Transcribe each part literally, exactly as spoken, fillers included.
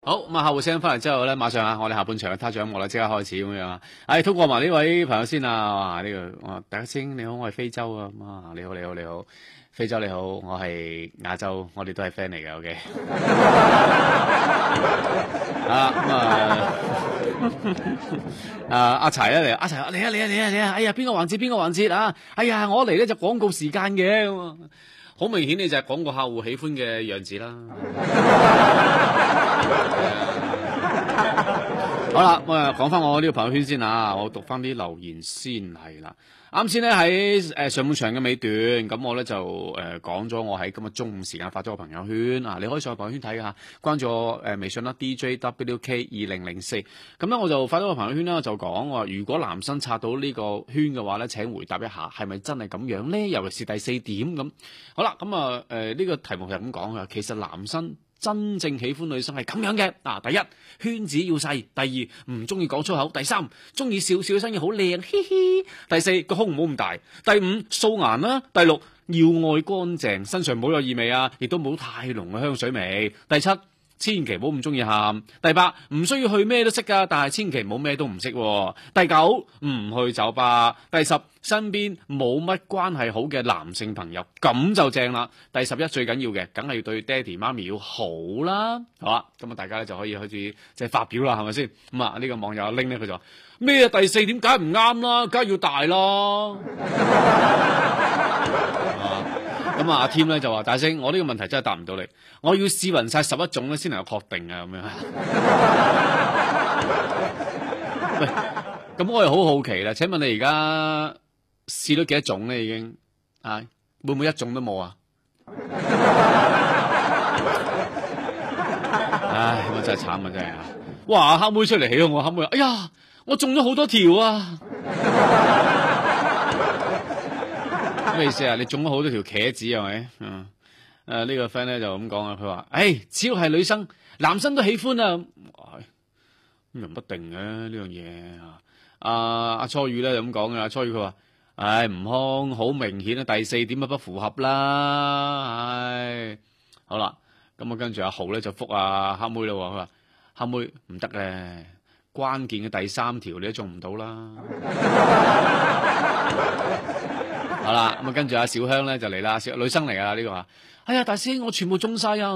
好咁啊！客戶聲翻嚟之後咧，馬上啊，我哋下半場嘅他獎幕啦，即刻開始咁樣啊！唉，通過埋呢位朋友先啊！哇，呢、這個我大家先你好，我係非洲啊！啊，你好，你好，你好，非洲你好，我係亞洲，我哋都係 friend 嚟嘅 ，OK。啊咁啊，啊阿柴咧嚟，阿柴嚟啊嚟啊嚟啊嚟啊！哎呀，邊個環節邊個環節啊？哎呀，我嚟咧就廣告時間嘅咁啊！好明顯你就係廣告客戶喜歡嘅樣子啦。好啦，咁啊講翻我呢個朋友圈先啊，我讀翻啲留言先係啦。啱先咧喺誒上半場嘅尾段，咁我咧就誒講咗我喺今日中午時間發咗個朋友圈啊，你可以上去朋友圈睇下，關注我誒微信啦 D J W K 二零零四，咁咧我就發咗個朋友圈啦，就講話如果男生刷到呢個圈嘅話咧，請回答一下係咪真係咁樣咧？尤其是第四點咁。好啦，咁啊誒呢個題目就係咁講嘅，其實男生真正喜歡女生係咁樣嘅，嗱、啊，第一圈子要細，第二唔中意講粗口，第三中意笑笑聲要好靚，嘻嘻，第四個胸唔好咁大，第五素顏啦，第六要愛乾淨，身上唔好有異味啊，亦都冇太濃嘅香水味，第七千祈唔好咁中意喊，第八唔需要去咩都識噶，但係千祈唔好咩都唔識，第九唔去酒吧，第十身邊冇乜關係好嘅男性朋友，咁就正啦。第十一最緊要嘅，梗係要對爹哋媽咪要好啦，好啦，咁啊大家咧就可以開始即係發表啦，係咪先？咁啊呢個網友拎咧佢就話咩啊第四點梗係唔啱啦，梗係要大咯。咁啊阿添咧就話大聲，我呢個問題真係答唔到你，我要試勻晒十一種咧先能夠確定啊咁樣。喂，咁我又好好奇啦，請問你而家試咗幾多種咧？已經啊，會唔會一種都冇啊？唉，咁啊真係慘啊，真係啊！哇，黑妹出嚟起哄我，黑妹，哎呀，我中咗好多條啊！咩意思啊？你中咗好多條茄子係咪？嗯，誒、啊這個、呢個 friend 咧就咁講啊，佢話，誒，只要係女生，男生都喜歡啊。咁又唔一定嘅呢樣嘢啊。阿阿初雨咧就咁講嘅，阿初雨佢話，唉，悟空好明顯啊，第四點啊不符合啦，唉，好啦，咁啊跟住阿豪咧就覆阿黑妹啦，佢話黑妹唔得咧，關鍵嘅第三條你都中唔到啦。好啦，咁啊跟住阿小香咧就嚟啦，小女生嚟噶呢個話，哎呀大師我全部中晒啊，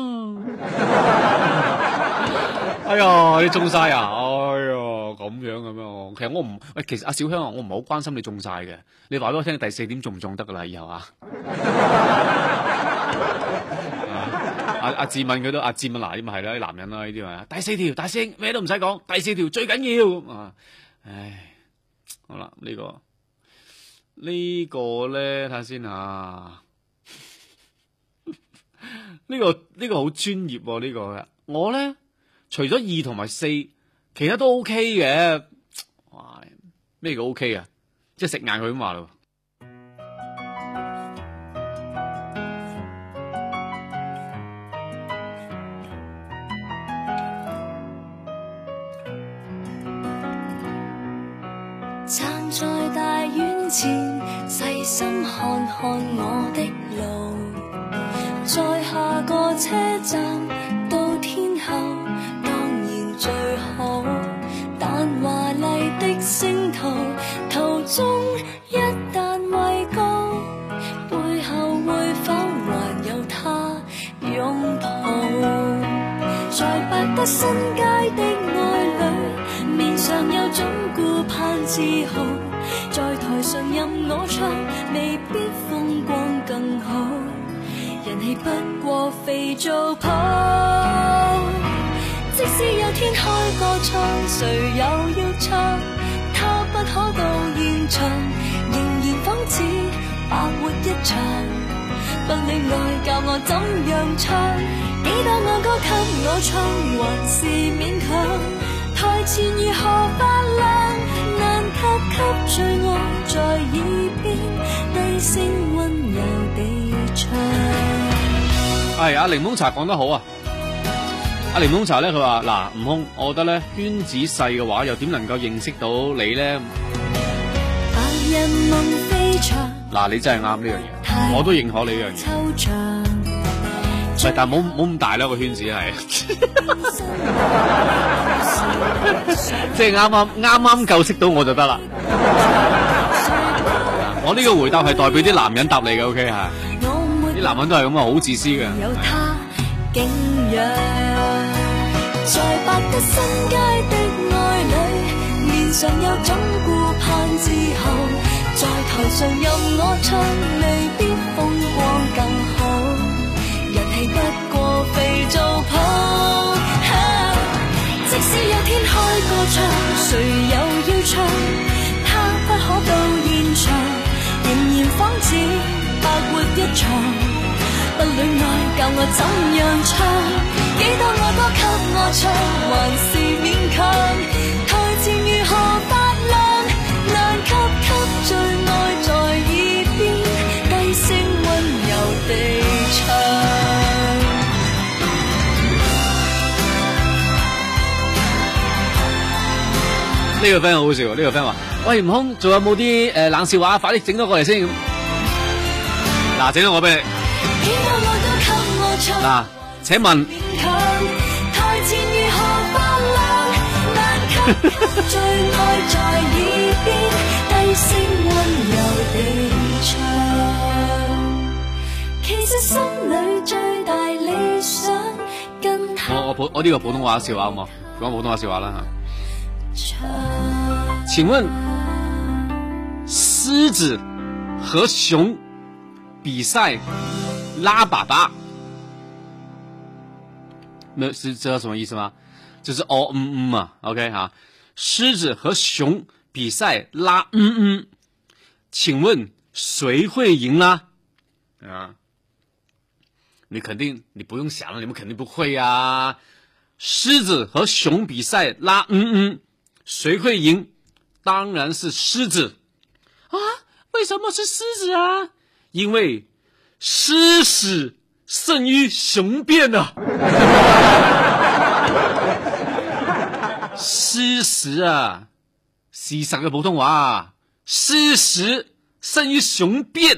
哎呀你中晒啊，哎呀咁樣咁樣，其實我唔，喂其實阿小香啊，我唔係好關心你中晒嘅，你話俾我聽第四點中唔中得噶啦以後啊。阿阿志敏佢都阿志敏嗱，呢咪係啦啲男人啦呢啲啊，第四條大聲咩都唔使講，第四條最緊要啊，唉，好啦呢個。呢個咧睇下先啊，呢個呢個好專業喎呢個嘅，我咧除咗二同埋四，其他都 OK 嘅。哇，咩叫 OK 啊？即係食硬佢咁話咯。 站在大院前，細心看看我的路，在下個車站到天后當然最好，但華麗的星途途中一旦位高，背後會否還有他擁抱？在百德新街的愛侶，面上有種顧盼自豪，在台上任我唱，未必風光更好，人氣不過肥皂泡。即使有天開個唱，誰又要唱？他不可到現場，仍然仿似白活一場。不戀愛教我怎樣唱，幾多愛歌給我唱，還是勉強。台前如何發亮，難及給醉我在耳邊低聲溫柔地唱。 係阿檸檬茶講得好啊！阿檸檬茶咧，佢話嗱，悟空，我覺得咧圈子細嘅話，又點能夠認識到你咧？ 白日夢飛翔， 嗱，你真係啱呢樣嘢，我都認可你呢樣嘢。喂，但係冇冇咁大啦個圈子係。 即係啱啱啱啱夠識到我就得啦。我呢個回答係代表啲男人答你嘅 ，OK 係。啲男人都係咁啊，好自私嘅。 有他景仰，在百德新街的愛侶，面上有種顧盼之後，在台上任我唱，未必風光更好，人氣不過肥皂泡。即使有天開個唱，誰又要唱？他不可到現場，仍然仿似白活一場。不戀愛教我怎樣唱，幾多愛歌給我唱，還是勉強。台前如何發亮，難給給最愛在耳邊低聲溫柔地唱。 呢個 friend 好好笑，呢、這個 friend 話：喂，悟空，仲有冇啲誒冷笑話？快啲整多過嚟先。嗱，整咗我俾你。嗱，請問台前如何發亮，難給最愛在耳邊低聲溫柔地唱。其實心裏最大理想跟他。 我我普我呢個普通話笑話好冇？講普通話笑話啦嚇。請問獅子和熊比賽拉粑粑，那是知道什麼意思嗎？就是哦嗯嗯嘛 ，OK 哈。獅子和熊比賽拉嗯嗯，請問誰會贏啦？啊，你肯定你不用想了，你們肯定不會啊。獅子和熊比賽拉嗯嗯，誰會贏？當然是獅子啊！為什麼是獅子啊？因為獅屎勝於雄辯啊！獅屎啊，事實嘅普通話啊，獅屎勝於雄辯。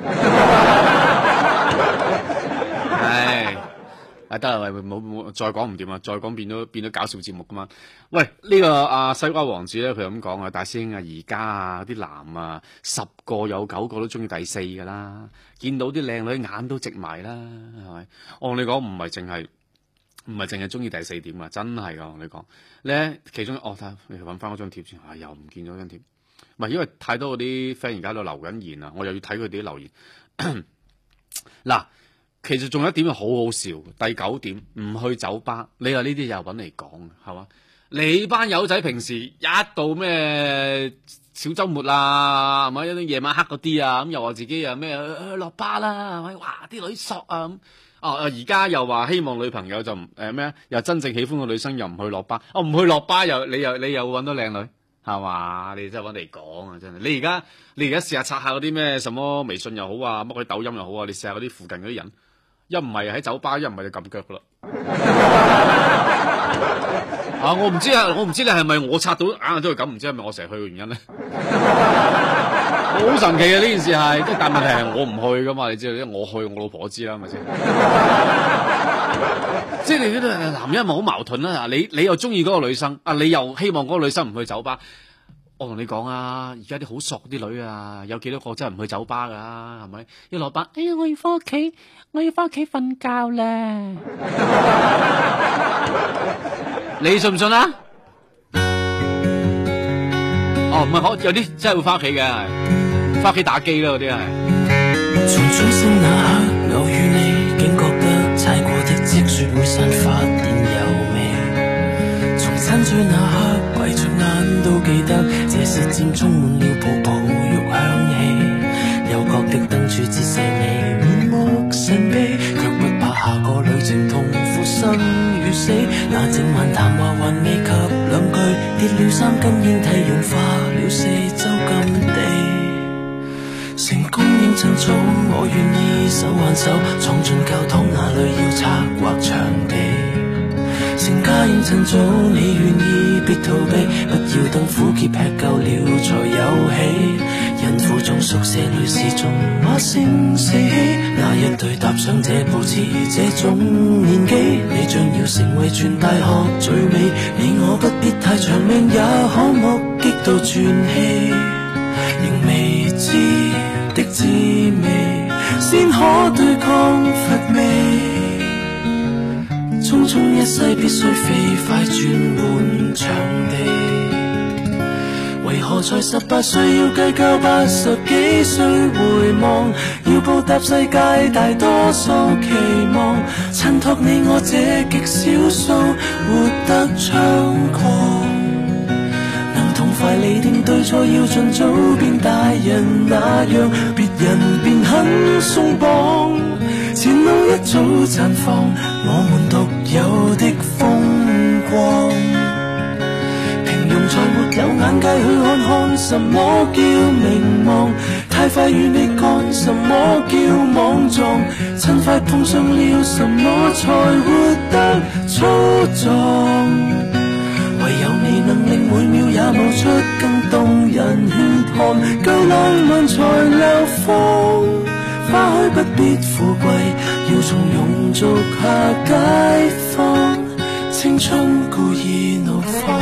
唉。啊得啦，喂，冇冇再講唔掂啊！再講變咗變咗搞笑節目噶嘛？喂，呢、這個阿、啊、西瓜王子咧，佢咁講啊，大師兄啊，而家啊啲男啊，十個有九個都中意第四噶啦，見到啲靚女眼都直埋啦，係咪？我同你講唔係淨係唔係淨係中意第四點啊，真係噶，我同你講咧，其中哦，睇你揾翻嗰張貼先，啊又唔見咗張貼，唔係因為太多嗰啲 friend 而家喺度留緊言啊，我又要睇佢哋啲留言嗱。其實仲有一點好好笑，第九點唔去酒吧，你話呢啲又揾嚟講，係嘛？你班友仔平時一到咩小週末啊，係咪？一啲夜晚黑嗰啲啊，咁又話自己又咩落巴啦，係咪？哇！啲女索啊咁，哦而家又話希望女朋友就唔誒咩？又真正喜歡個女生又唔去落巴，哦唔去落巴又你又你又揾到靚女，係嘛？你真係揾嚟講啊！真係，你而家你而家試下刷下嗰啲咩什麼微信又好啊，乜鬼抖音又好啊，你試下嗰啲附近嗰啲人。一唔係喺酒吧，一唔係就撳腳噶啦。啊，我唔知啊，我唔知你係咪我刷到硬係都係咁，唔知係咪我成日去嘅原因咧？好神奇嘅呢件事係，即係但問題係我唔去噶嘛，你知道，因為我去我老婆知啦，係咪先？即係你呢啲男人咪好矛盾啦。你你又中意嗰個女生，啊你又希望嗰個女生唔去酒吧。我同你講啊，而家啲好索啲女啊，有幾多個真係唔去酒吧噶，係咪？一落班，哎呀，我要翻屋企，我要翻屋企瞓覺咧。你信唔信啊？哦，唔係，我有啲真係會翻屋企嘅，翻屋企打機啦，嗰啲係。從轉身那刻，偶遇你，竟覺得踩過的積雪會散發現有味。從親嘴那刻，閉着眼都記得。這時漸充滿了泡泡浴香氣，幽角的燈柱折射你面目神秘，卻不怕下個旅程痛苦生與死。那整晚談話還未及兩句，跌了三根煙蒂融化了四周禁地。成功應趁早，我願意手挽手闖進教堂，那裏要策劃場地。 成家應趁早，你願意別逃避，不要等苦澀吃夠了才有喜。孕婦中宿舍裏是眾話聲四起，那一對踏上這步似這種年紀，你將要成為全大學最美。你我不必太長命，也可目擊到傳奇，仍未知的滋味，先可對抗乏味。匆匆一世必須飛快轉換場地，為何才十八歲要計較八十幾歲回望，要報答世界大多數期望，襯托你我這極少數活得猖狂，能同快釐定對錯，要盡早變大人那樣，別人便很鬆綁，前路一早綻放我們獨有的風光。平庸才沒有眼界去看看什麼叫名望，太快與你幹什麼叫莽撞，趁快碰上了什麼才活得粗壯，唯有你能令每秒也冒出更動人血汗，夠浪漫才流放，花開不必富貴，要從庸俗下解放，青春故意怒放。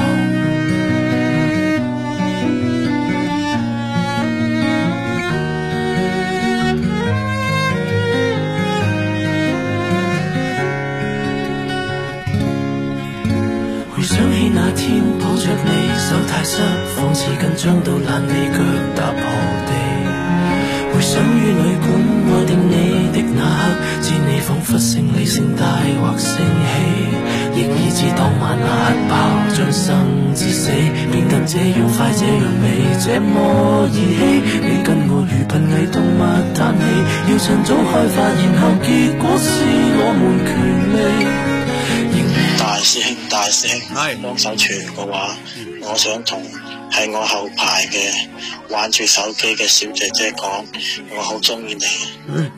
回想起那天抱着你手太濕，仿似緊張到爛你腳踏破地，回想於旅館愛定你的那刻，知你彷彿勝利盛大或盛喜，亦已知當晚那核爆將生至死變得這樣快這樣美這麼兒戲，你跟我如瀕危動物嘆氣，要趁早開發，然後結果是我們權利。 大師兄大師兄幫手傳嘅話，我想同喺我後排嘅玩住手機嘅小姐姐講，我好中意你。 嗯，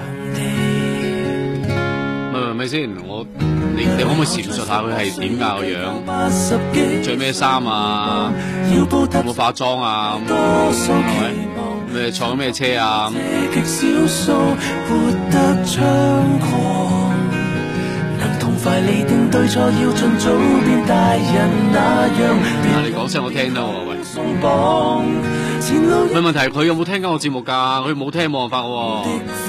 咪咪咪先，我你你可唔可以闡述下佢係點㗎個樣？着咩衫啊？有冇化妝啊？係咪？咩坐咩車啊？快釐定對錯，要盡早變大人那樣。啊！你講聲我聽得喎，喂。冇問題，佢有冇聽緊我節目㗎？佢冇聽冇辦法喎。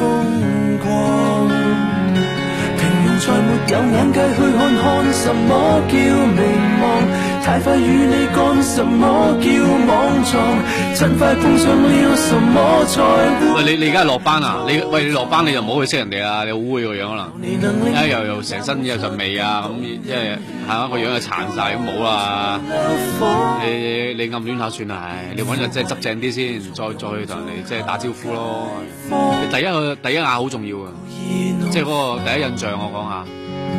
平庸才沒有眼界去看看什麼叫名望，太快與你幹什麼叫莽撞，趁快碰上了什麼才會。喂，你你而家落班啊？你喂你落班你就唔好去識人哋啊！你好污個樣可能，啊又又成身有陣味啊咁，即係係嘛個樣又殘晒咁冇啦。你你暗戀下算啦，唉，你揾日即係執正啲先，再再去同人哋即係打招呼咯。你第一個第一眼好重要啊，即係嗰個第一印象我講下。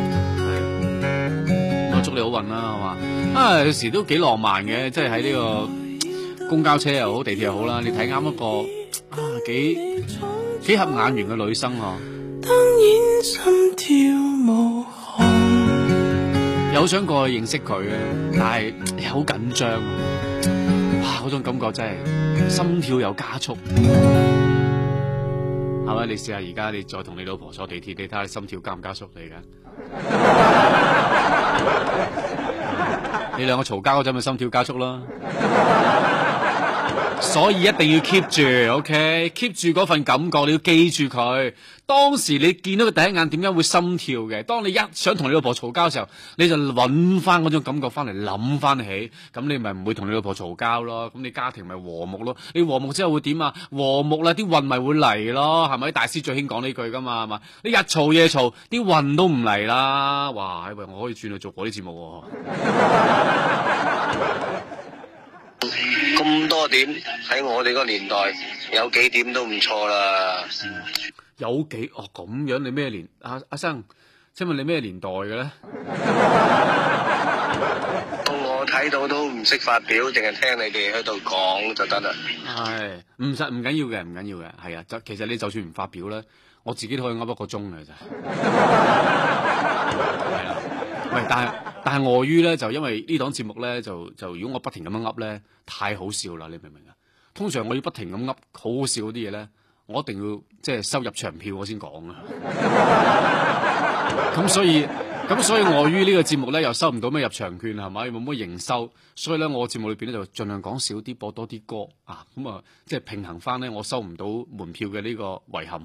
我祝你好運啦，係嘛？啊，有時都幾浪漫嘅，即係喺呢個公交車又好，地鐵又好啦。你睇啱一個啊，幾幾合眼緣嘅女生啊！當然心跳無限，有想過去認識佢嘅，但係又好緊張啊！哇，嗰種感覺真係心跳又加速，係咪？你試下而家你再同你老婆坐地鐵，你睇下心跳加唔加速嚟㗎？你兩個嘈交嗰陣咪心跳加速啦，所以一定要 keep 住 ，OK，keep 住嗰份感覺，你要記住佢。當時你見到佢第一眼點解會心跳嘅？當你一想同你老婆嘈交嘅時候，你就揾翻嗰種感覺翻嚟，諗翻起，咁你咪唔會同你老婆嘈交咯。咁你家庭咪和睦咯。你和睦之後會點啊？和睦啦，啲運咪會嚟咯，係咪？大師最興講呢句噶嘛，係嘛？你日嘈夜嘈，啲運都唔嚟啦。哇！喂，我可以轉去做嗰啲節目喎。 咁多點喺我哋個年代有幾點都唔錯啦。 有幾哦咁樣？你咩年？阿阿生，請問你咩年代嘅咧？ 到我睇到都唔識發表，淨係聽你哋喺度講就得啦。 係唔實唔緊要嘅，唔緊要嘅，係啊。就其實你就算唔發表咧，我自己都可以噏一個鐘嘅咋。係啊。 喂，但係但係礙於咧，就因為呢檔節目咧，就就如果我不停咁樣噏咧，太好笑啦，你明唔明啊？通常我要不停咁噏好好笑嗰啲嘢咧，我一定要即係收入場票我先講啊。咁所以咁所以礙於呢個節目咧又收唔到咩入場券係咪？冇乜營收，所以咧我節目裏邊咧就盡量講少啲，播多啲歌啊，咁啊即係平衡翻咧我收唔到門票嘅呢個遺憾。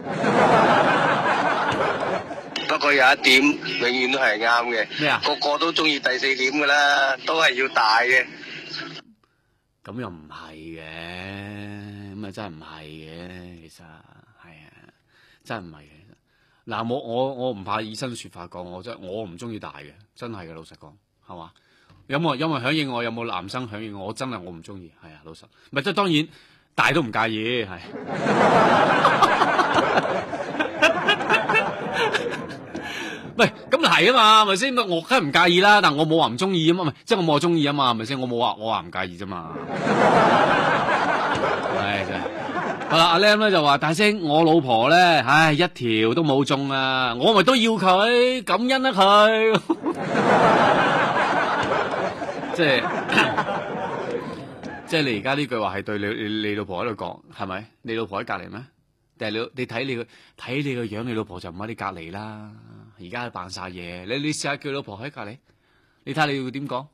不過有一點永遠都係啱嘅， 咩啊？ 個個都中意第四點噶啦，都係要大嘅。 咁又唔係嘅，咁啊真係唔係嘅，其實係啊，真係唔係嘅。嗱，我我我唔怕以身説法講，我真係我唔中意大嘅，真係嘅，老實講，係嘛？有冇有冇響應我？有冇男生響應我？我真係我唔中意，係啊，老實。唔係即係當然大都唔介意，係。喂，咁係啊嘛，係咪先？我梗係唔介意啦，但我冇話唔中意啊嘛，唔係，即係我冇話中意啊嘛，係咪先？我冇話我話唔介意啫嘛。係真係。好啦，阿 Lam 咧就話大聲，我老婆咧，唉，一條都冇中啊，我咪都要佢，感恩啊佢。即係即係你而家呢句話係對你你你老婆喺度講，係咪？你老婆喺隔籬咩？但係你你睇你個睇你個樣，你老婆就唔喺你隔籬啦。而家扮晒嘢，你你試下叫老婆喺隔籬，你睇下你要點講？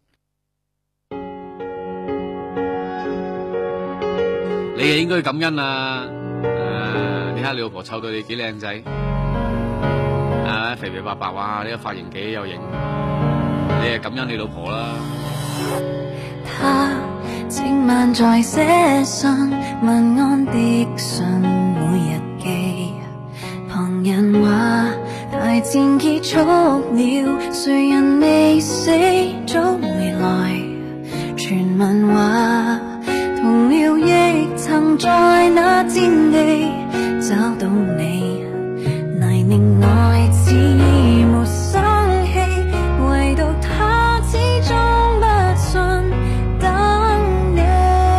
你係應該感恩啊！誒、呃，你睇下你老婆湊到你幾靚仔，啊，肥肥白白，哇！呢、這個髮型幾有型，你係感恩你老婆啦。 他靜慢在寫信，問安的信每日寄，旁人話大戰結束了，誰人未死早回來，傳聞話同僚亦曾在那戰地找到你，泥濘內似沒生氣，唯獨他始終不信等你，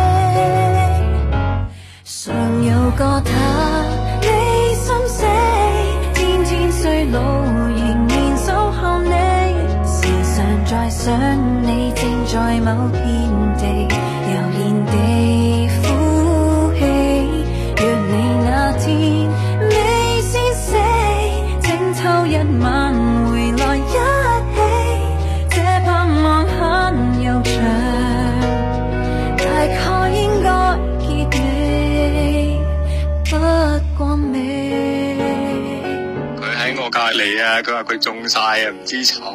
常有個他你心死，天天衰老仍然守候你，時常在想你正在某片地悠然地呼氣，若你那天未先死，請偷一晚回來一起，這盼望很悠長，大概應該結尾不過未。 佢喺我隔離啊，佢話佢中晒啊，唔知醜。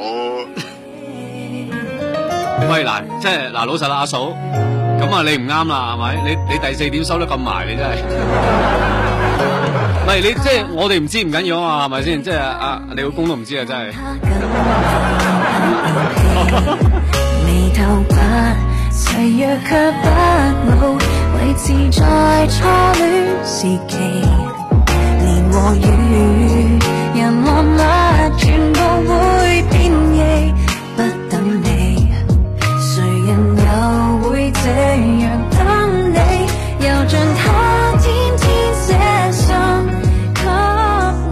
喂嗱，即係嗱老實啦，阿嫂，咁啊你唔啱啦，係咪？你你第四點收得咁埋，你真係。喂，你即係我哋唔知唔緊要啊嘛，係咪先？即係啊，你老公都唔知啊，真係。 眉頭白，誓約卻不老，維持在初戀時期，年和月，人望物全部會變異，不等你。誰人又會這樣等你？又像他天天寫信給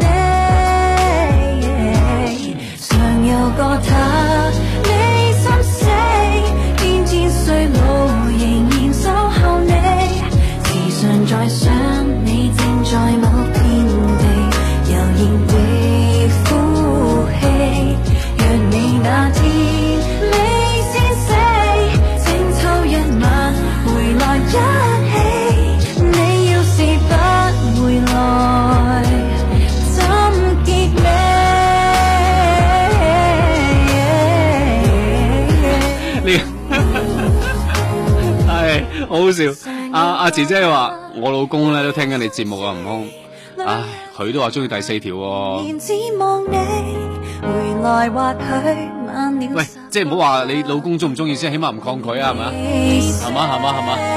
你，常有個他你心死，天天衰老仍然守候你，時常在想你正在某片地悠然地呼氣，若你那天未先死，請抽一晚回來一起，你要是不回來怎結尾？ 呢係好好笑。阿阿姐姐話我老公咧都聽緊你節目啊，悟空，唉，佢都話中意第四條喎。 只望你回來或許晚了。 喂，即係唔好話你老公中唔中意先，起碼唔抗拒啊，係咪啊？係嘛係嘛係嘛。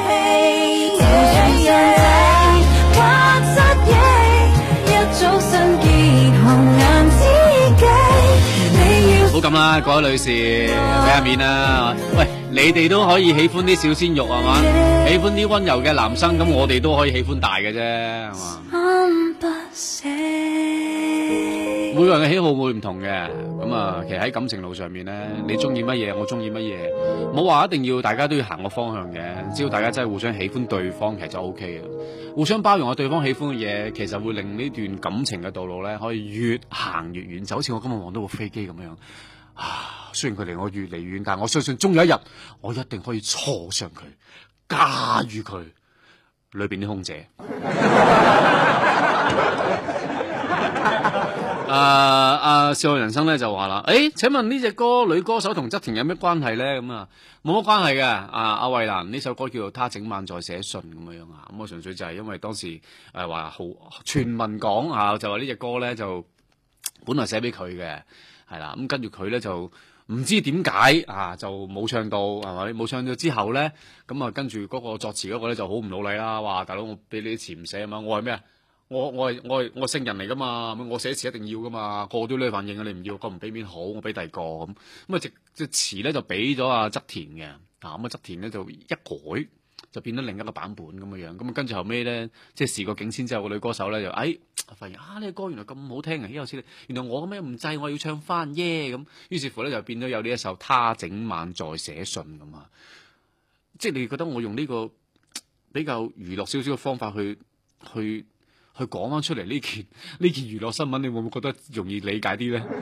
好咁啦，各位女士俾下面啦。喂，你哋都可以喜歡啲小鮮肉係嘛？喜歡啲溫柔嘅男生，咁我哋都可以喜歡大嘅啫，係嘛？ 每個人嘅喜好會唔同嘅，咁啊，其實喺感情路上面咧，你中意乜嘢，我中意乜嘢，冇話一定要大家都要行個方向嘅，只要大家真係互相喜歡對方，其實就 O K 嘅，互相包容下對方喜歡嘅嘢，其實會令呢段感情嘅道路咧可以越行越遠，就好似我今日望到部飛機咁樣。啊，雖然佢離我越嚟越遠，但係我相信終有一日，我一定可以坐上佢，駕馭佢裏邊啲空姐。誒誒，笑傲人生咧就話啦，誒，請問呢隻歌女歌手同側田有咩關係咧？咁啊，冇乜關係嘅。啊，阿衛蘭呢首歌叫做《他整晚在寫信》咁樣樣啊，咁我純粹就係因為當時誒話好傳聞講啊，就話呢隻歌咧就本來寫俾佢嘅，係啦，咁跟住佢咧就唔知點解啊，就冇唱到係咪？冇唱到之後咧，咁啊跟住嗰個作詞嗰個咧就好唔努力啦，話大佬我俾你啲詞唔寫啊嘛，我係咩啊？我我係我係我聖人嚟噶嘛，我寫詞一定要噶嘛，個個都呢反應啊！你唔要，個唔俾面好，我俾第二個咁，咁啊隻隻詞咧就俾咗阿側田嘅，啊咁啊側田咧就一改就變咗另一個版本咁嘅樣，咁啊跟住後尾咧即係事過境遷之後，個女歌手咧就誒發現啊呢個歌原來咁好聽啊，有時原來我咁樣唔制，我要唱翻耶咁，於是乎咧就變咗有呢一首他整晚在寫信咁啊，即係你覺得我用呢個比較娛樂少少嘅方法去去。去講翻出嚟呢件呢件娛樂新聞，你會唔會覺得容易理解啲咧？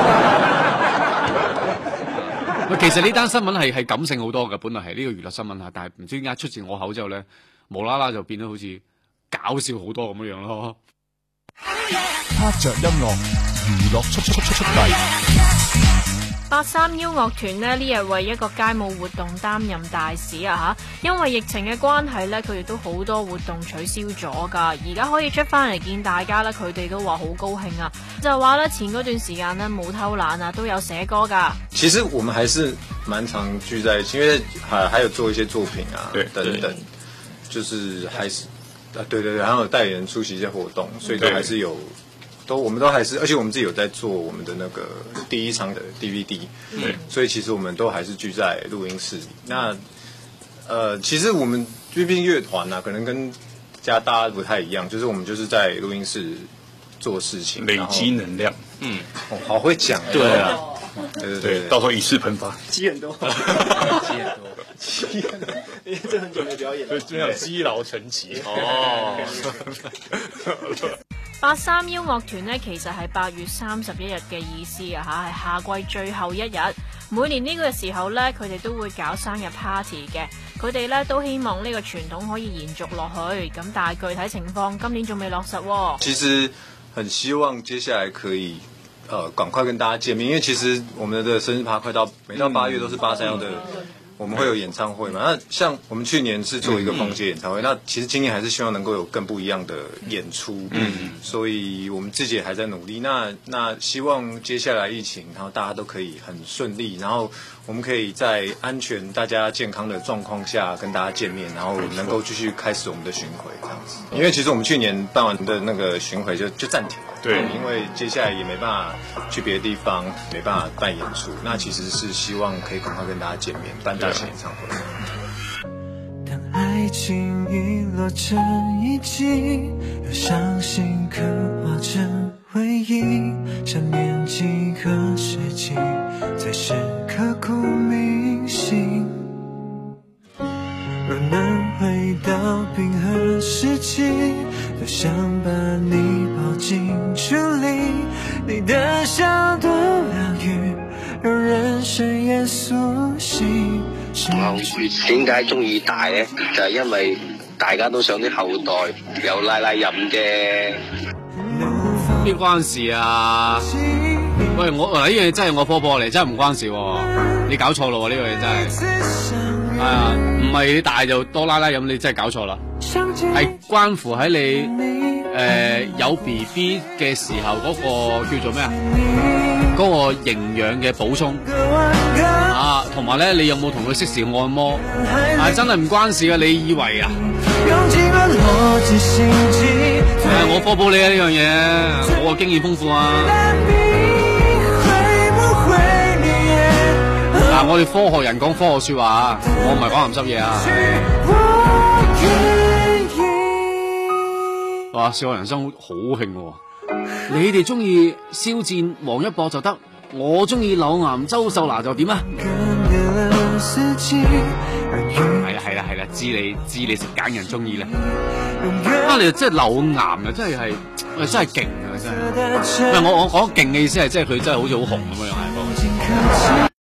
其實呢單新聞係係感性好多嘅，本來係呢個娛樂新聞啊，但係唔知點解出自我口之後咧，無啦啦就變得好似搞笑好多咁樣樣咯。 拍着音樂，娛樂速速速速遞。 八三幺樂團呢，呢日為一個街舞活動擔任大使啊吓，因為疫情嘅關係呢，佢哋都好多活動取消咗噶，而家可以出翻嚟見大家呢，佢哋都話好高興啊，就話呢，前嗰段時間呢，冇偷懶啊，都有寫歌噶。 其實我們還是蠻常聚在一起，因為還還有做一些作品啊，對等等，就是還是啊對對對，然後有帶人出席一些活動，所以都還是有。都我們都還是，而且我們自己有在做我們的那個第一場的 D V D， 對，所以其實我們都還是聚在錄音室裡。那，呃，其實我們畢竟樂團啊，可能跟家大家不太一樣，就是我們就是在錄音室做事情， 累積能量。嗯， 哦，好會講， 對啊， 對對對， 到時候以示噴發， 積很多，積很多，積很多，因為這很久沒表演了， 就要積勞成疾。哦。 八三幺樂團呢，其實係八月三十一日嘅意思啊吓，係夏季最後一日。每年呢個時候呢，佢哋都會搞生日 party 嘅。佢哋呢都希望呢個傳統可以延續落去。咁但係具體情況今年仲未落實喎。 其實很希望接下來可以，呃，趕快跟大家見面，因為其實我們的生日趴快到，每到八月都是八三幺的。我們會有演唱會嘛？那像我們去年是做一個封街演唱會，那其實今年還是希望能夠有更不一樣的演出。嗯，所以我們自己也還在努力。那那希望接下來疫情，然後大家都可以很順利，然後我們可以在安全、大家健康的狀況下跟大家見面，然後能夠繼續開始我們的巡迴這樣子。因為其實我們去年辦完的那個巡迴就就暫停了，對，因為接下來也沒辦法去別的地方，沒辦法辦演出。那其實是希望可以趕快跟大家見面，辦大型演唱會。 當愛情遺落成遺跡，又傷心刻畫成回憶，想念幾個世紀，才是刻骨銘心。若能回到冰河時期，多想把你抱進處理，你的笑多療癒，讓人生也甦醒。 點解中意大呢？就係因為大家都想啲後代有奶奶飲啫。 邊關事啊？喂，我嗱呢樣嘢真係我波波嚟，真係唔關事喎。你搞錯咯喎，呢樣嘢真係係啊，唔係你大就多奶奶飲，你真係搞錯啦。係關乎喺你誒、呃、有 B B 嘅時候嗰個叫做咩啊？嗰、那個營養嘅補充啊，同埋咧，你有冇同佢適時按摩？啊，真係唔關事噶，你以為啊？誒、啊，我科普你啊呢樣嘢，我經驗豐富啊。嗱、啊，我哋科學人講科學說話啊，我唔係講鹹濕嘢啊。哇，笑傲人生好興喎！ 你哋中意肖戰、王一博就得，我中意柳岩、周秀娜就點啊？係啦係啦係啦，知你知你食揀人中意啦。啊，你真係柳岩啊，真係係，真係勁啊，真係。唔係我我講勁嘅意思係，即係佢真係好似好紅咁樣係。